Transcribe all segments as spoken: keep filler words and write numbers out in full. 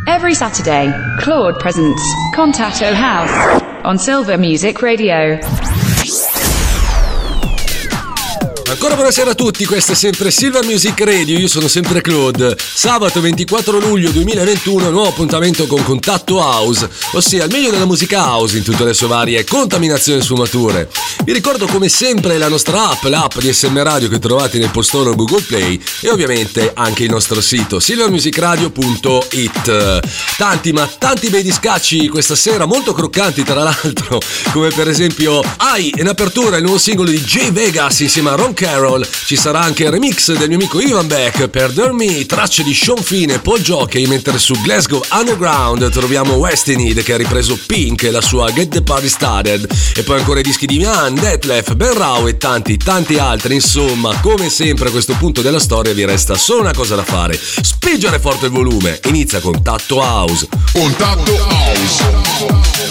Every Saturday, Claude presents Contatto House on Silver Music Radio. Ancora buonasera a tutti, questa è sempre Silver Music Radio, io sono sempre Claude. Sabato ventiquattro luglio duemilaventuno, nuovo appuntamento con Contatto House, ossia il meglio della musica house in tutte le sue varie contaminazioni e sfumature. Vi ricordo come sempre la nostra app, l'app di S M Radio che trovate nel postone Google Play e ovviamente anche il nostro sito silver music radio punto it. Tanti ma tanti bei discacci questa sera, molto croccanti tra l'altro, come per esempio Ai in apertura il nuovo singolo di Jay Vegas insieme a Ron Carroll. Ci sarà anche il remix del mio amico Ivan Beck per Dare Me, tracce di Sean Finn e Paul Jockey, mentre su Glasgow Underground troviamo Westinid che ha ripreso Pink e la sua Get the Party Started, e poi ancora i dischi di Mian, Detlef, Ben Rao e tanti tanti altri. Insomma, come sempre a questo punto della storia vi resta solo una cosa da fare: spingere forte il volume. Inizia Contatto House. Contatto House.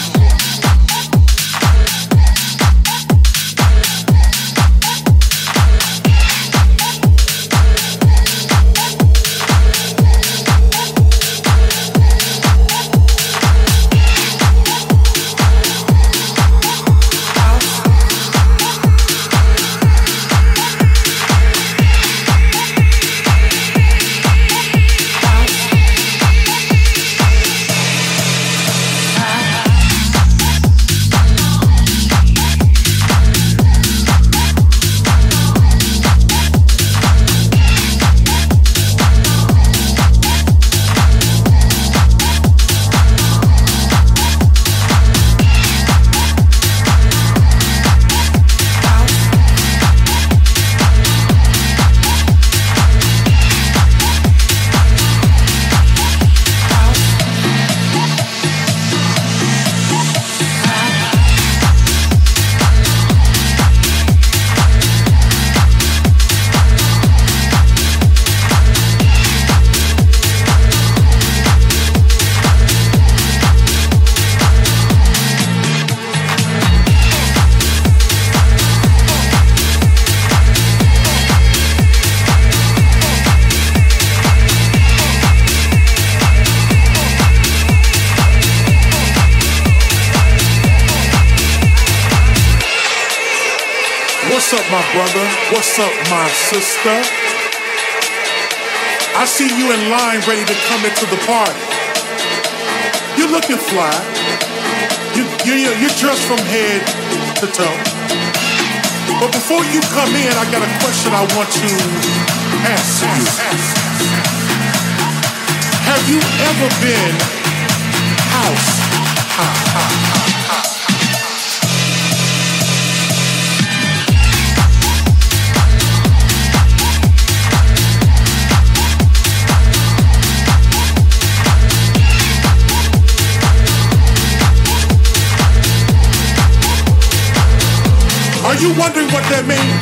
Brother, what's up, my sister? I see you in line ready to come into the party. You're looking fly. You, you, you're dressed from head to toe. But before you come in, I got a question I want to ask you. Have you ever been house high? Are you wondering what that means?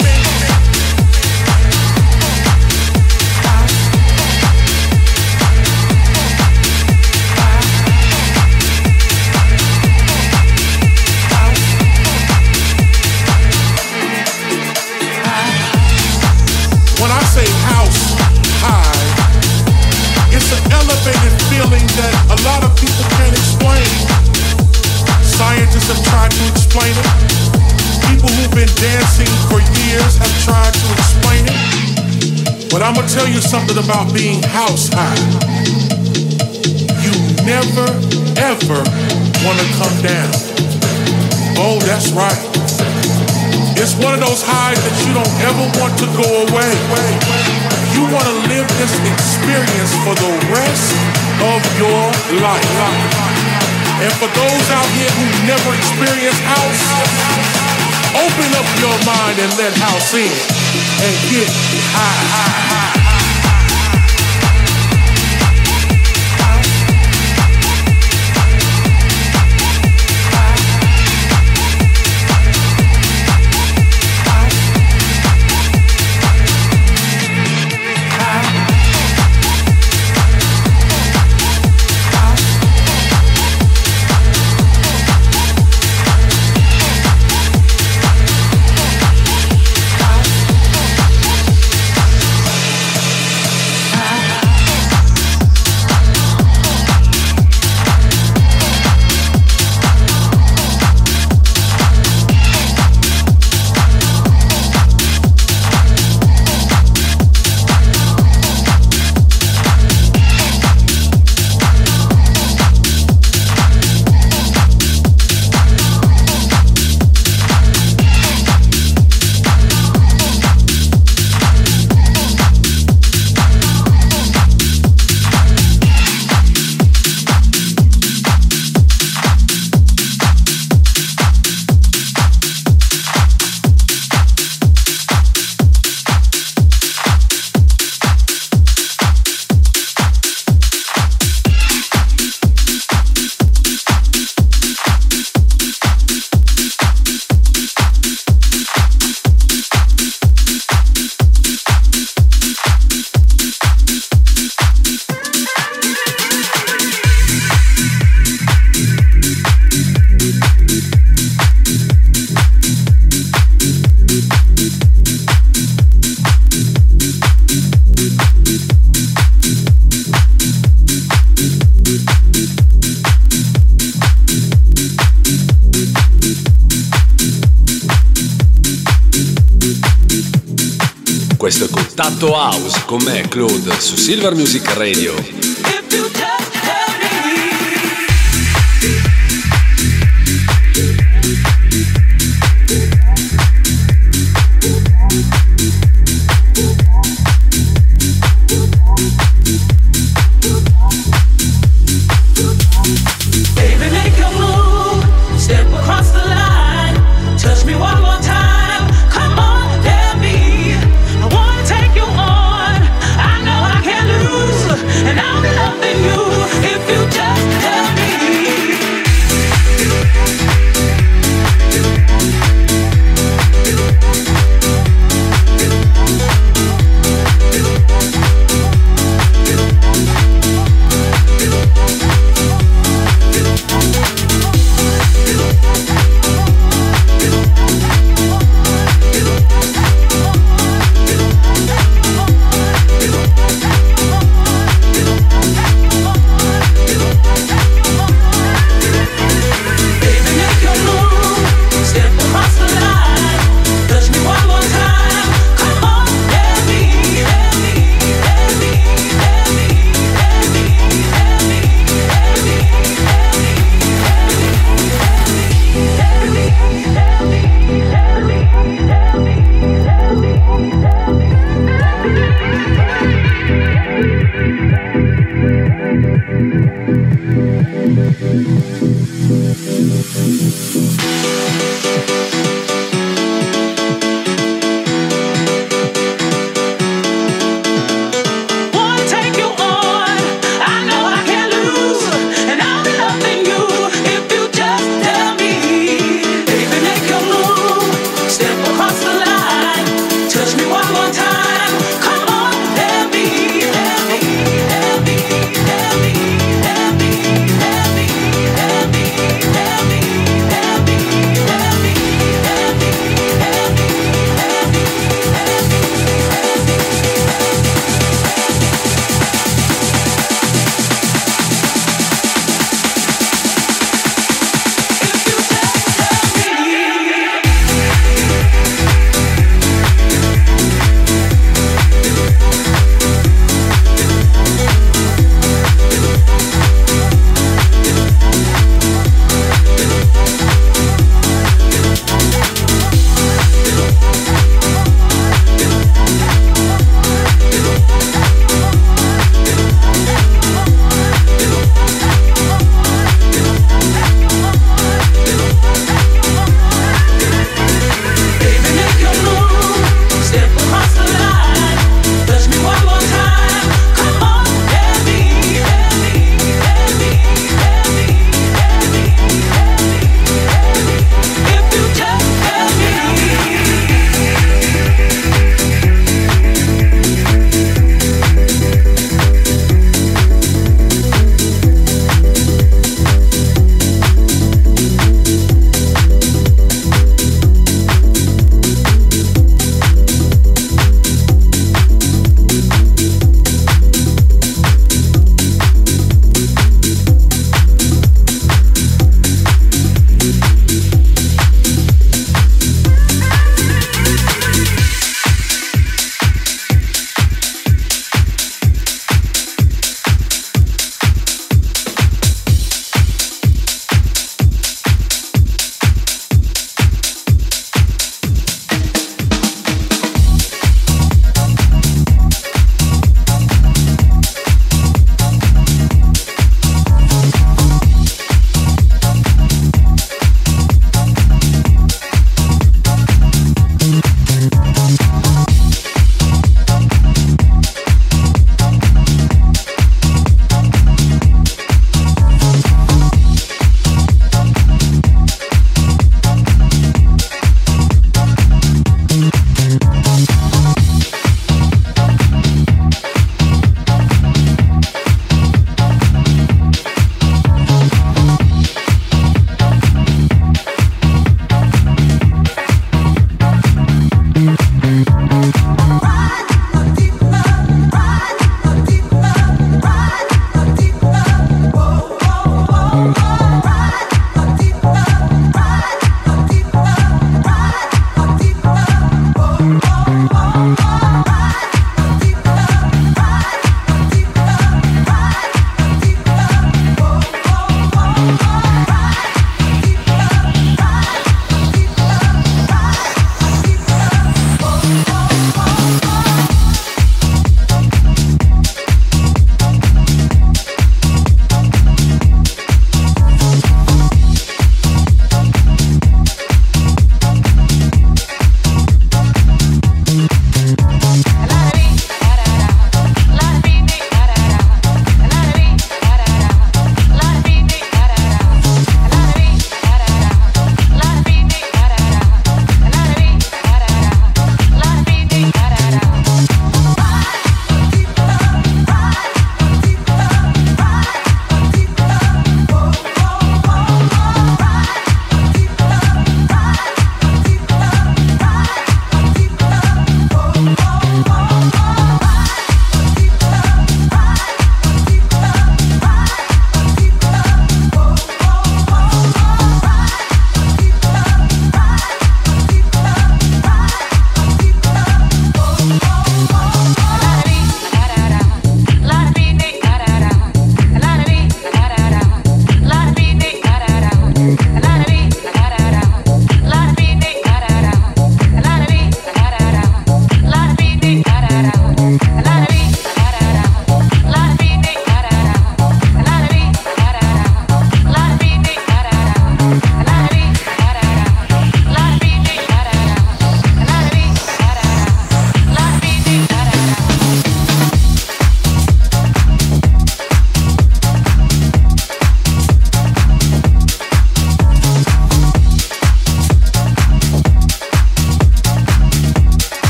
When I say house high, it's an elevated feeling that a lot of people can't explain. Scientists have tried to explain it. People who've been dancing for years have tried to explain it. But I'm gonna tell you something about being house high. You never, ever wanna come down. Oh, that's right. It's one of those highs that you don't ever want to go away. You wanna live this experience for the rest of your life. And for those out here who never experienced house, open up your mind and let house in and get high, high, high. Contatto House con me, Claude, su Silver Music Radio. And I'm loving you.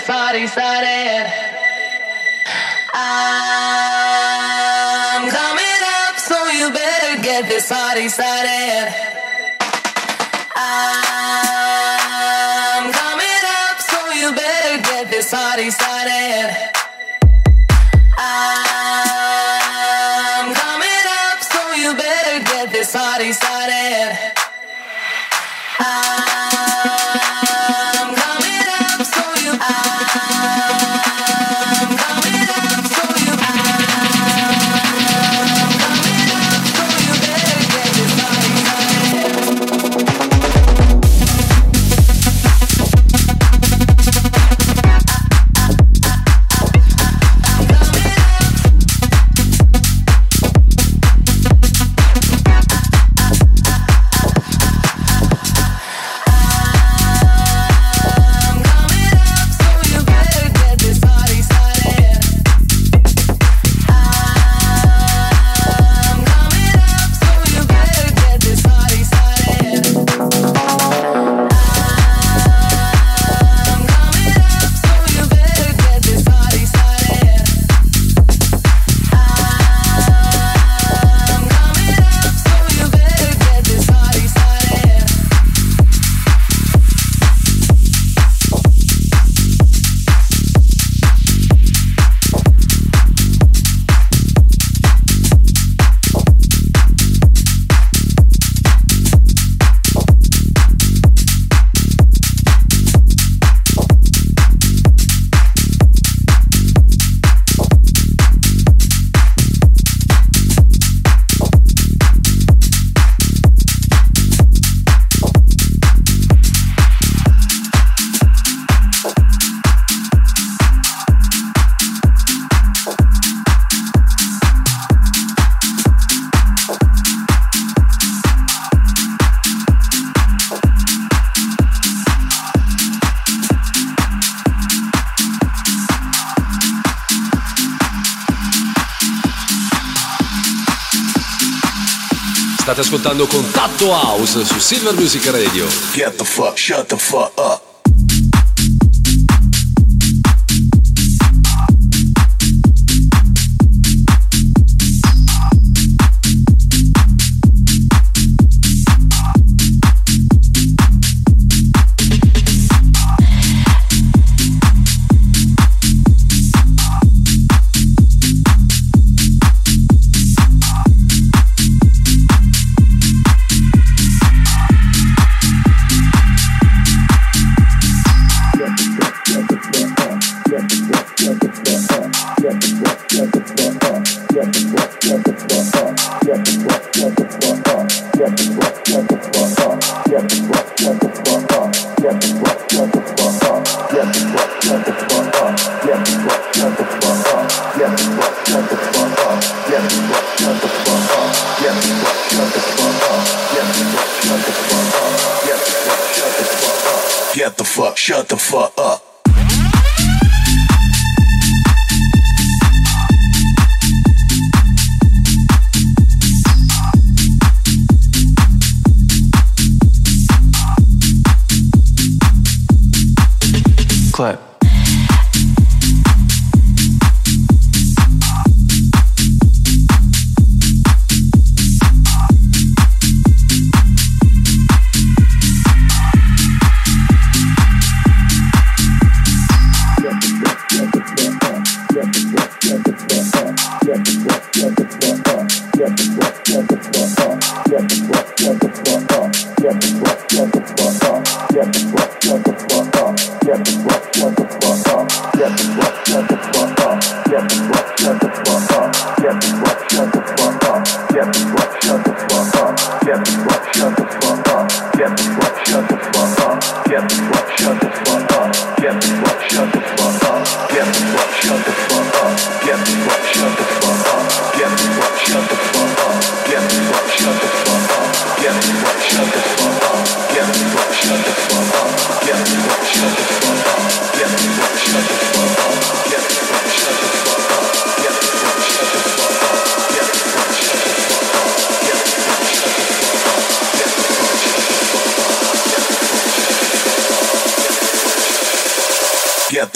party started. I'm coming up, so you better get this party started. I'm coming up, so you better get this party started. I'm coming up, so you better get this party started. I'm coming up, so you. I'm coming up, so you. I'm coming up, so you better get this party started. State ascoltando Contatto House su Silver Music Radio. Get the fuck, shut the fuck up. Get the fuck, shut the fuck up. Clap.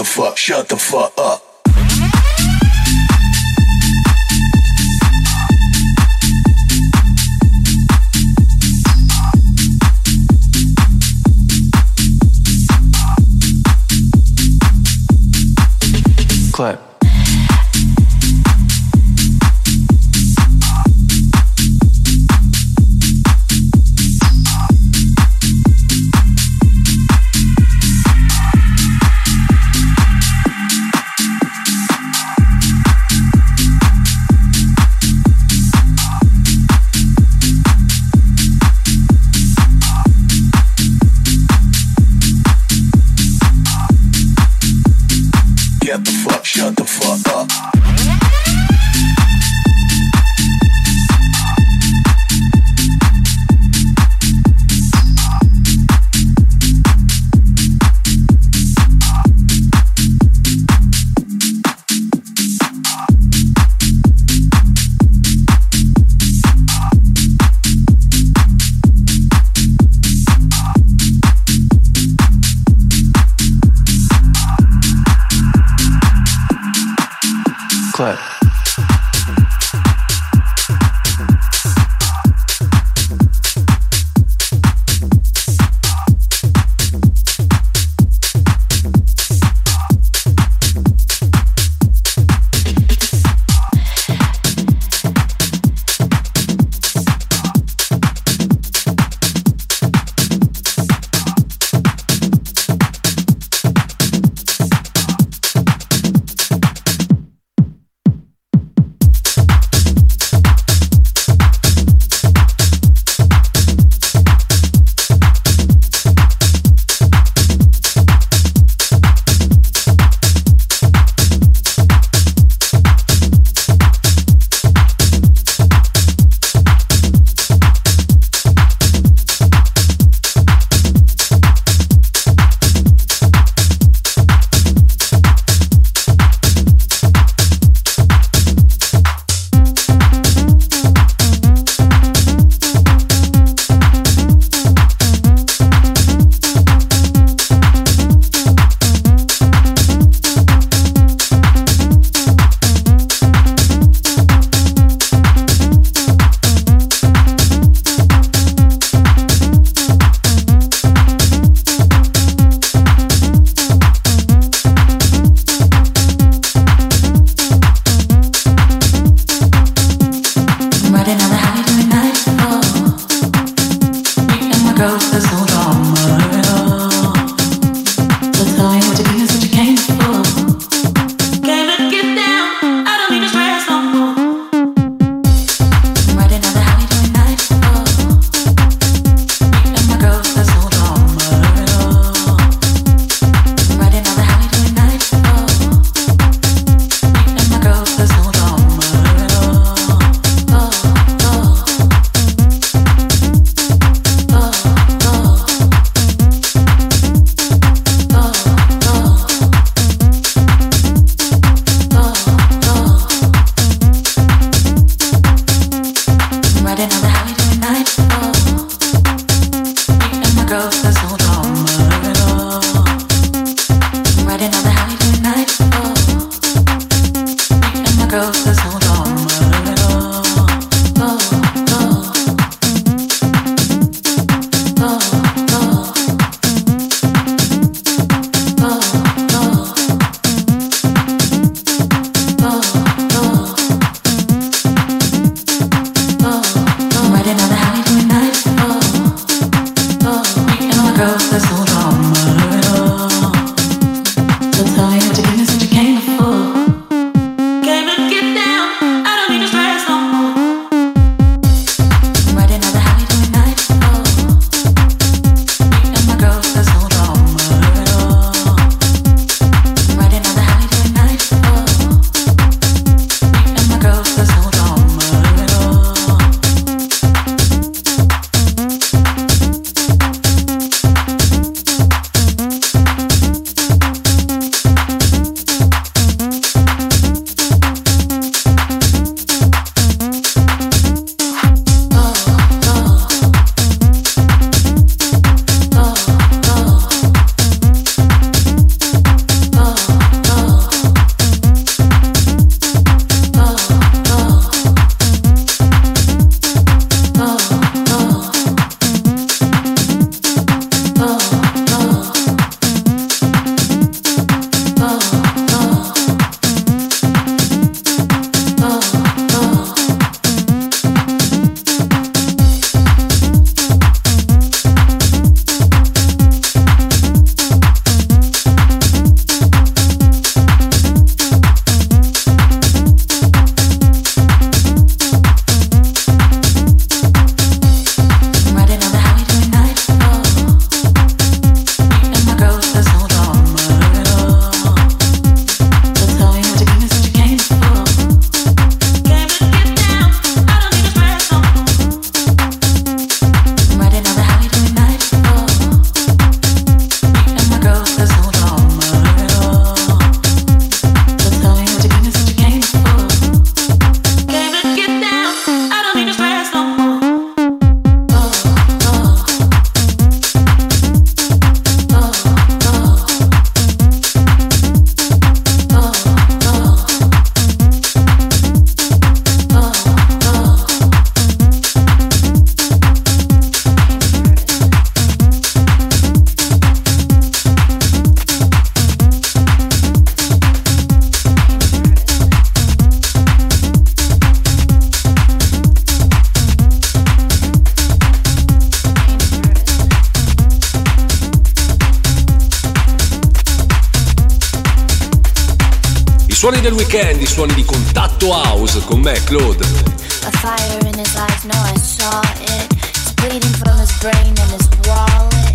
fuck, shut the fuck up. Clap. Get the fuck, shut the fuck up. Clap. suoni del weekend, i suoni di Contatto House con me, Claude. A fire in his eyes, no I saw it. It's bleeding from his brain and his wallet.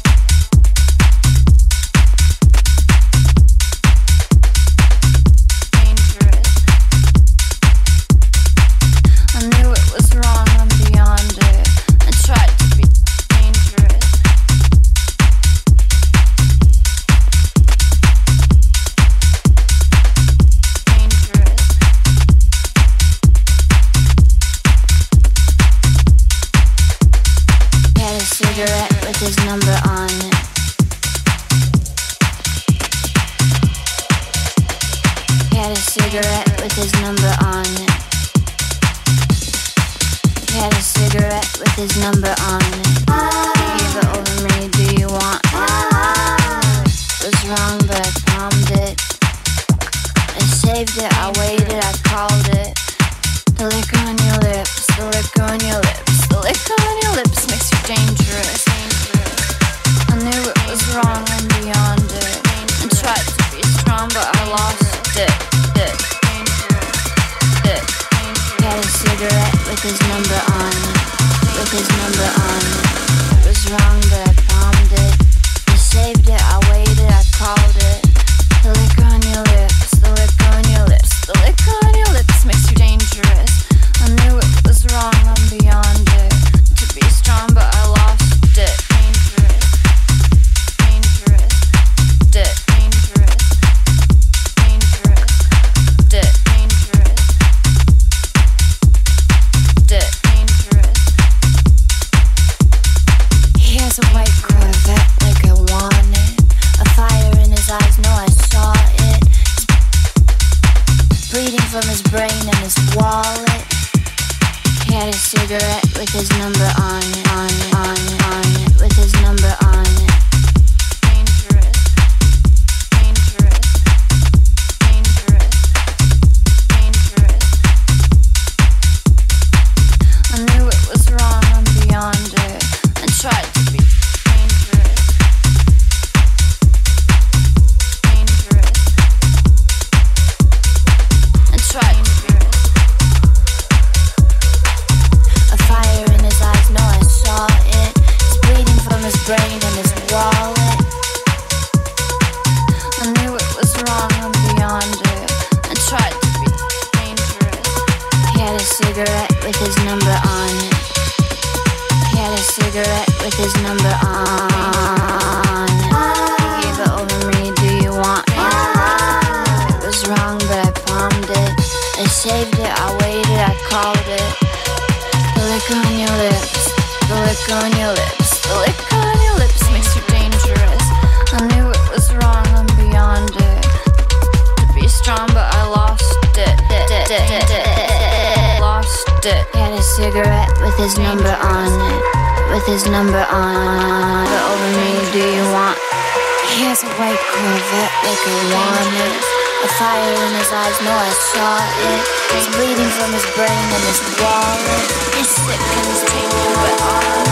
Dangerous. I knew it was wrong, I'm beyond it. I tried to be dangerous. Cigarette with his number on it. He had a cigarette with his number on it. He had a cigarette with his number on it. He gave it over me, do you want it? It was wrong but I palmed it. I saved it, I waited, I called it. The liquor on your lips, the liquor on your lips, the liquor on your lips makes you dangerous. I knew it was wrong, I'm beyond it. I tried to be strong, but I lost it. It. It. He had a cigarette with his number on it. With his number on it. It was wrong, but I palmed it. I saved it, I waited, I called it. The liquor on your lips, the liquor on your lips, the liquor on your lips makes you dangerous. I knew it was wrong, I'm beyond it. To be strong, but I lost it. Dangerous, dangerous, it, dangerous, dangerous, it, dangerous, it, dangerous. He has a white Corvette like I want it. A fire in his eyes, no I saw it. It's bleeding from his brain and his wallet. He had a cigarette with his number on it, on it, on it, on it, with his number on it. Dangerous, dangerous, dangerous, dangerous. I knew it was wrong, I'm beyond it. I tried to be dangerous, dangerous. I tried to be. A fire in his eyes, no I saw it. It's bleeding from his brain and his wallet. I knew it was wrong, I'm beyond it. I tried to be dangerous. He had a cigarette with his number on it. He had a cigarette with his number on it. He gave it over me, do you want it? It was wrong, but I palmed it. I saved it, I waited, I called it. The liquor on your lips, the liquor on your lips, the liquor on your lips makes you dangerous. I knew it was wrong, I'm beyond it. To be strong, but I lost it. Lost it. He had a cigarette with his number on it. With his number on it. Over me, do you want? He has a white Corvette like I want it. A fire in his eyes, no I saw it. He's bleeding from his brain and his wallet. He's sick and he's taking but all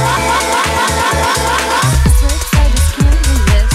it. So I just can't resist.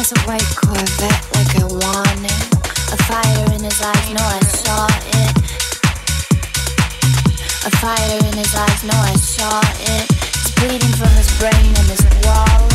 drives a white Corvette like I want it. A fire in his eyes, no, I saw it. A fire in his eyes, no, I saw it. It's bleeding from his brain and his wallet.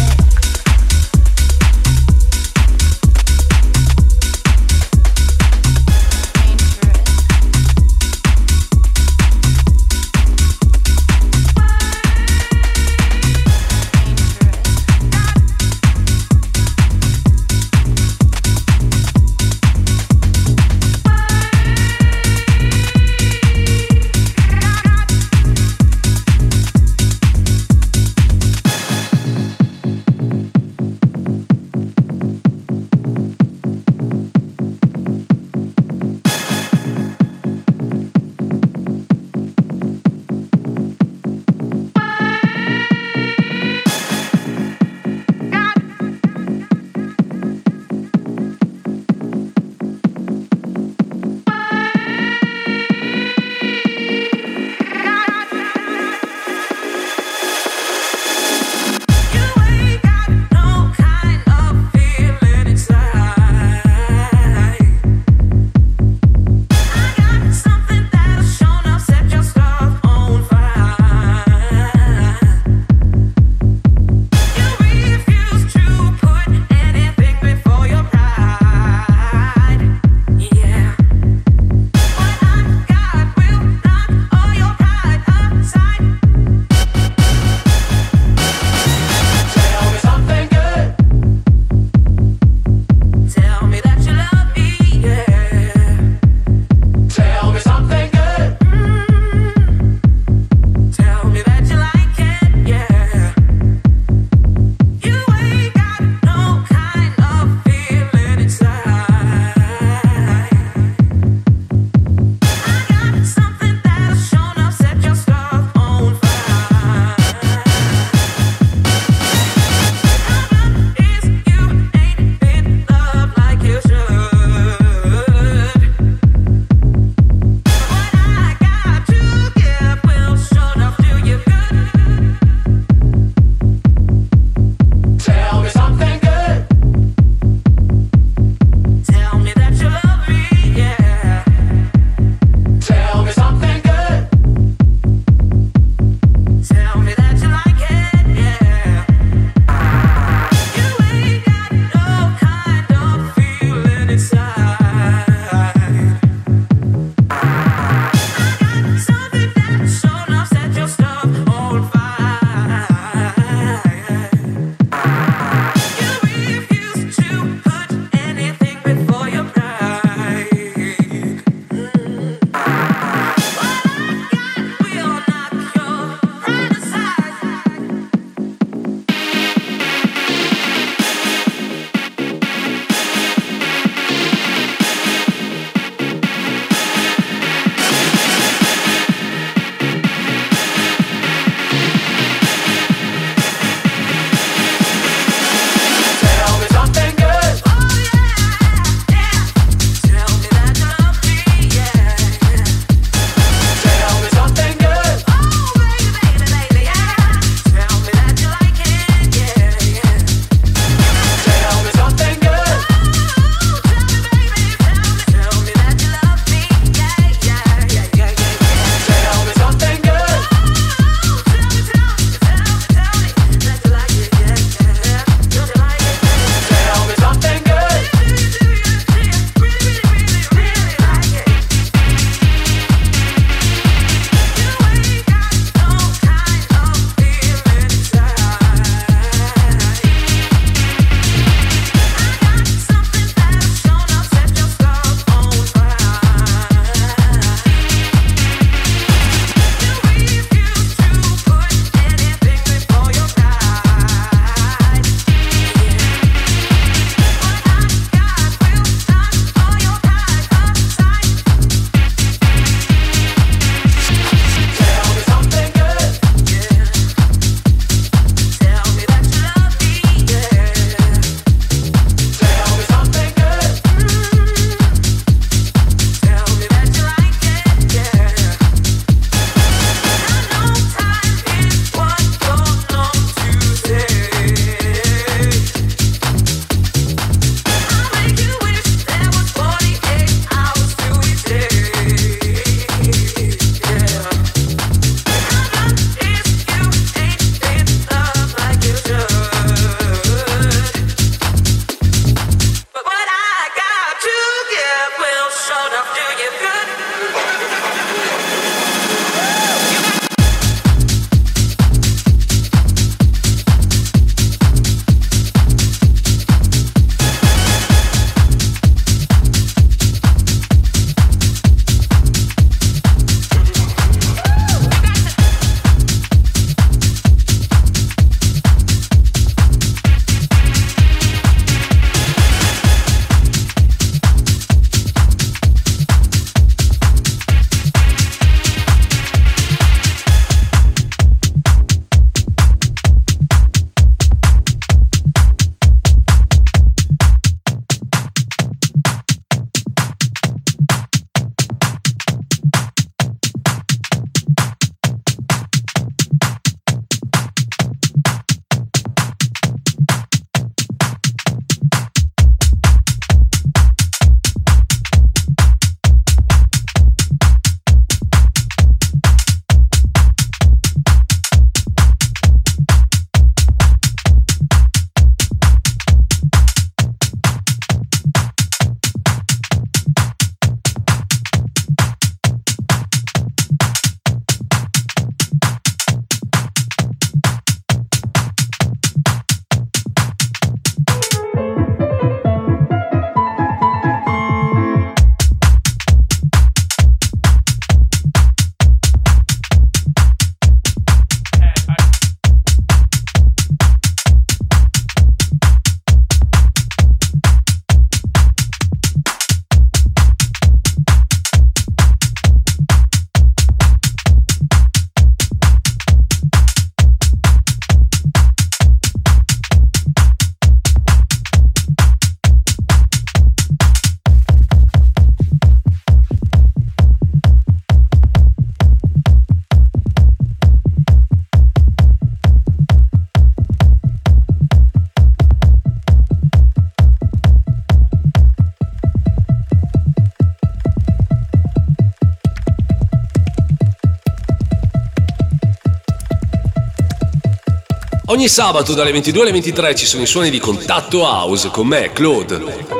Ogni sabato dalle ventidue alle ventitré ci sono i suoni di Contatto House con me, Claude.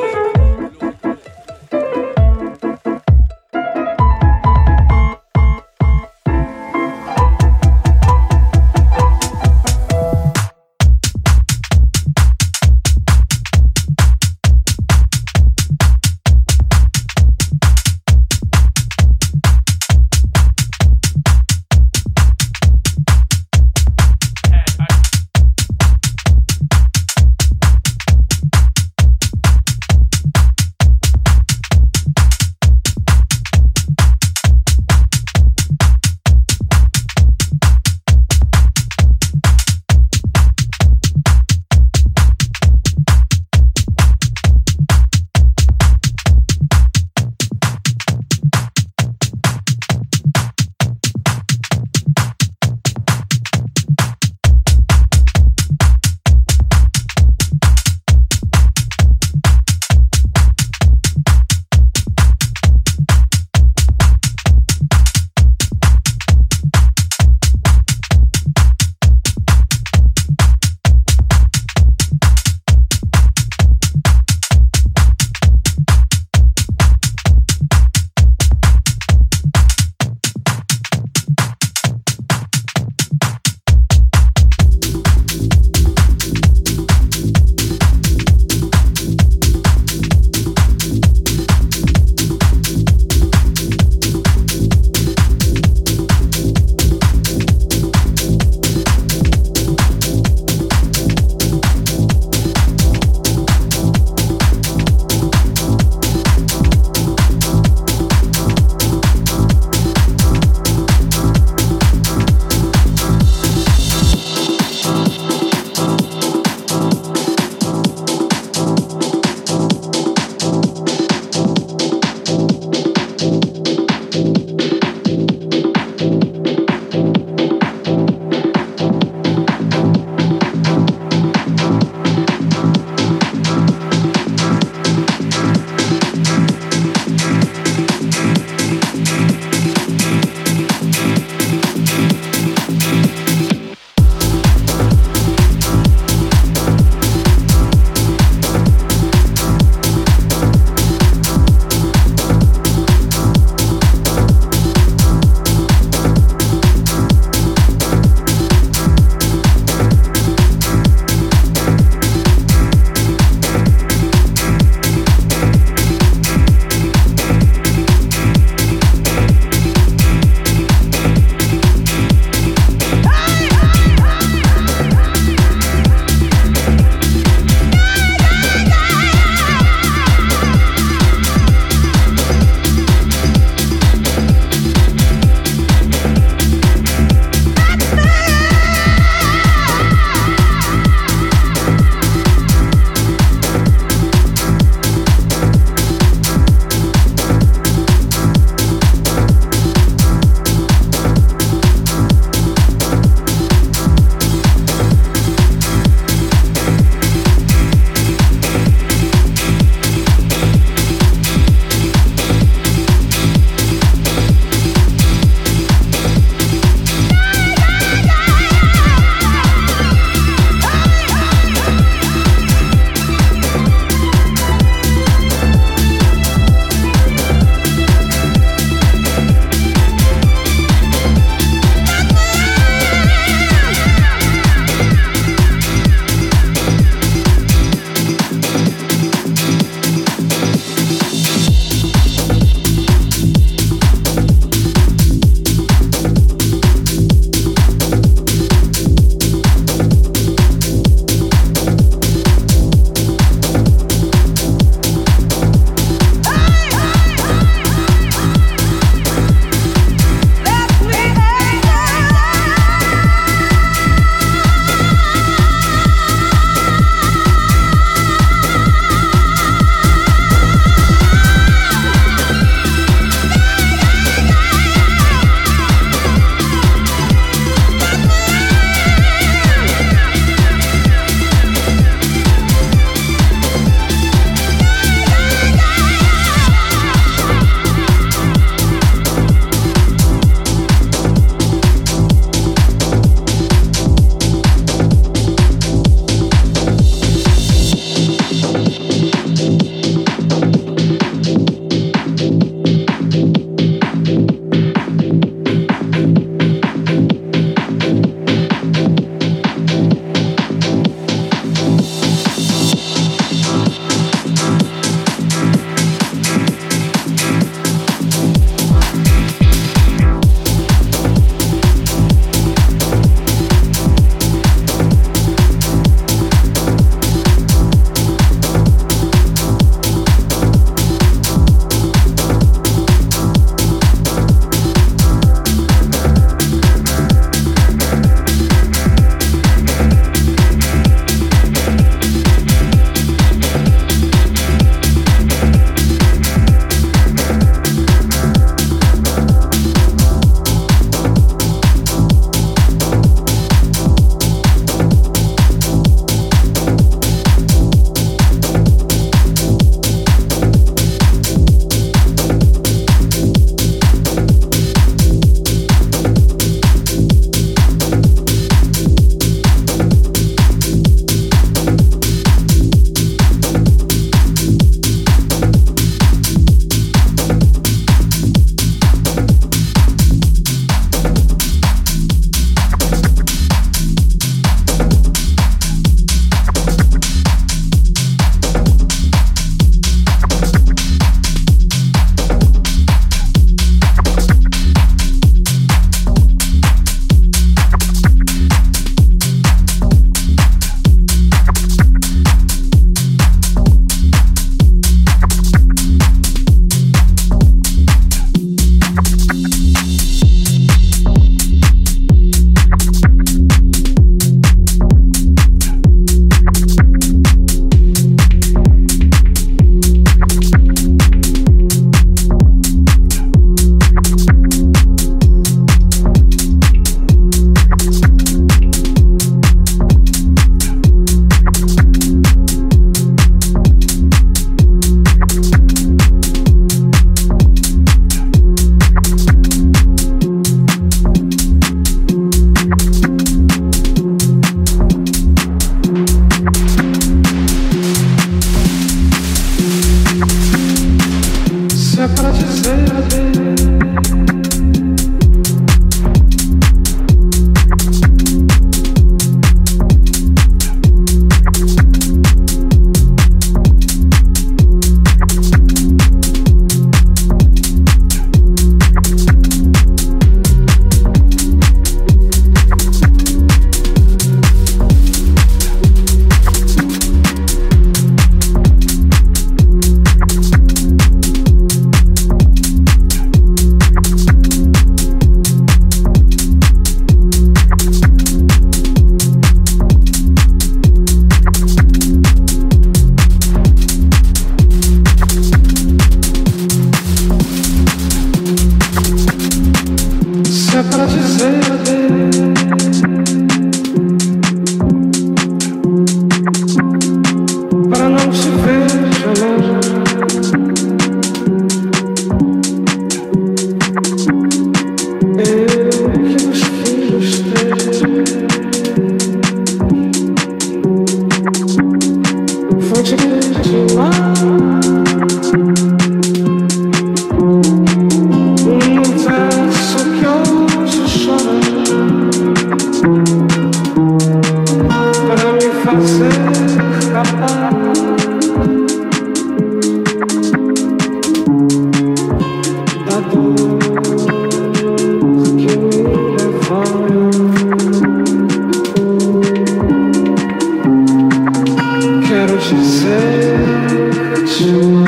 dizer te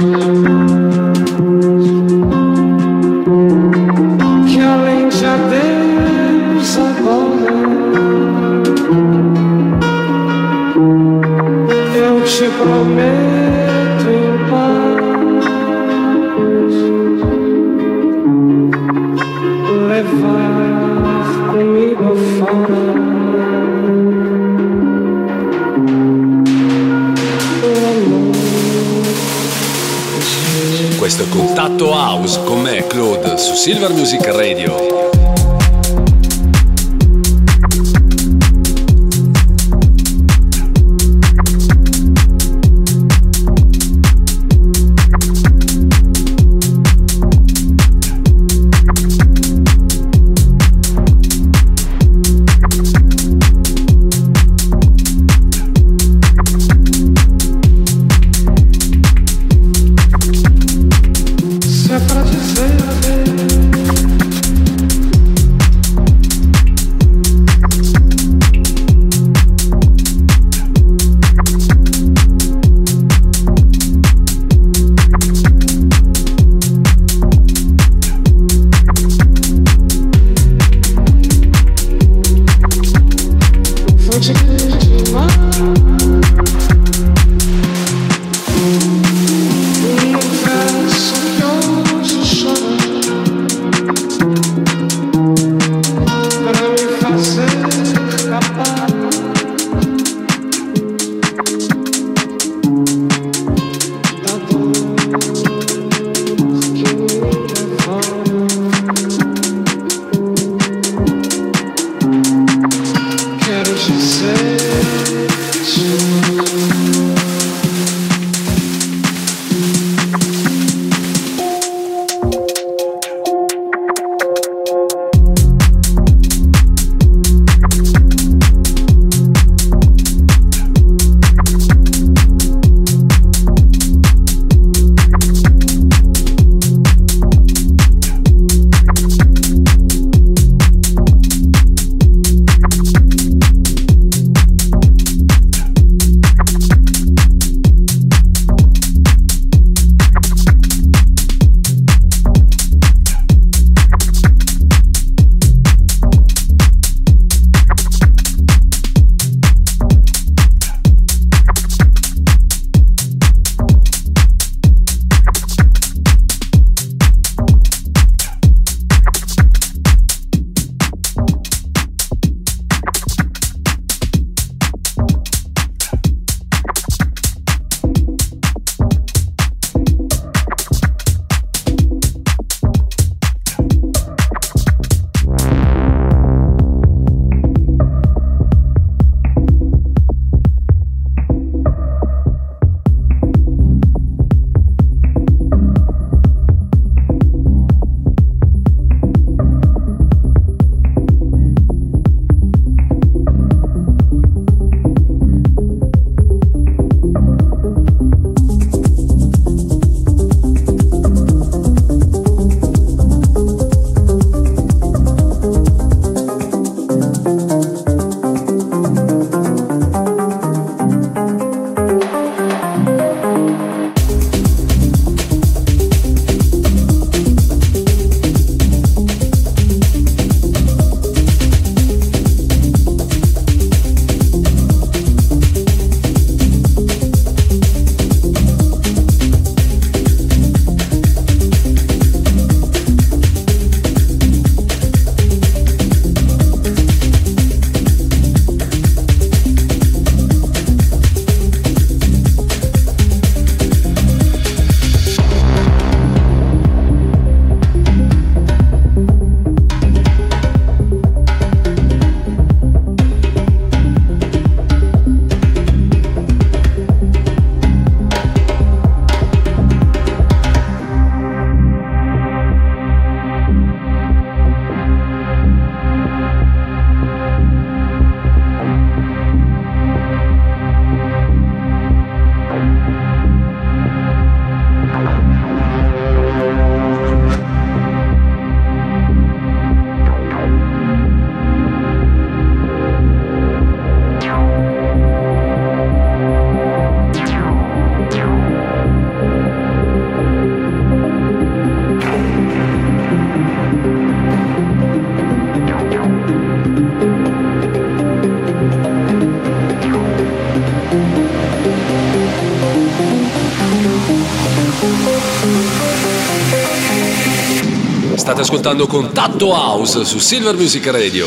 que além de adeus agora eu te prometo em paz levar comigo fora. Questo è Contatto House con me, Claude, su Silver Music Radio. Se é pra dizer adeus State ascoltando Contatto House su Silver Music Radio.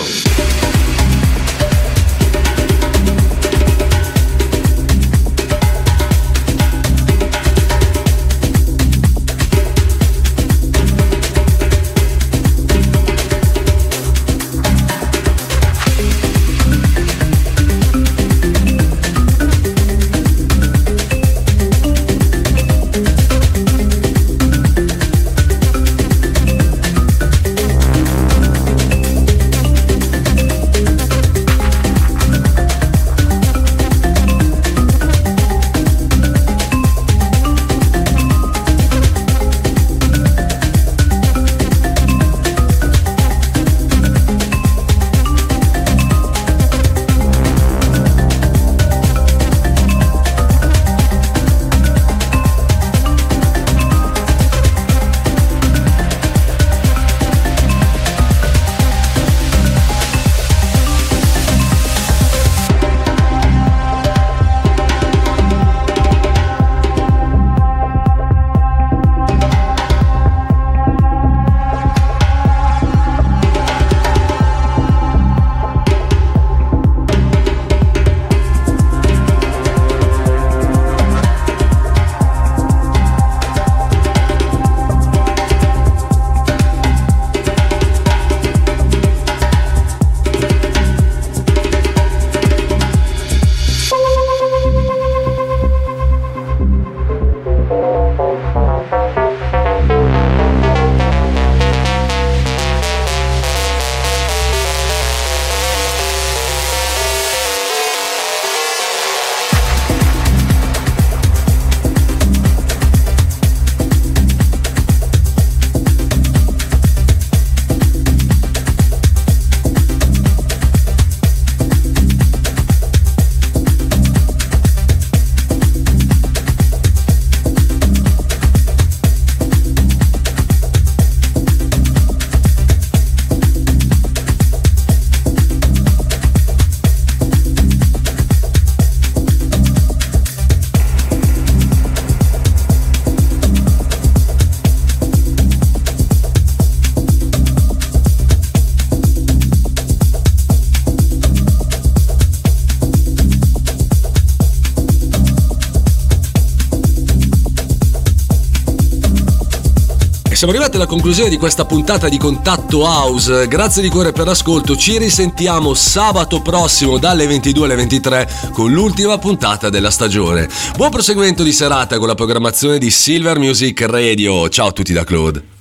Siamo arrivati alla conclusione di questa puntata di Contatto House. Grazie di cuore per l'ascolto. Ci risentiamo sabato prossimo dalle ventidue alle ventitré con l'ultima puntata della stagione. Buon proseguimento di serata con la programmazione di Silver Music Radio. Ciao a tutti da Claude.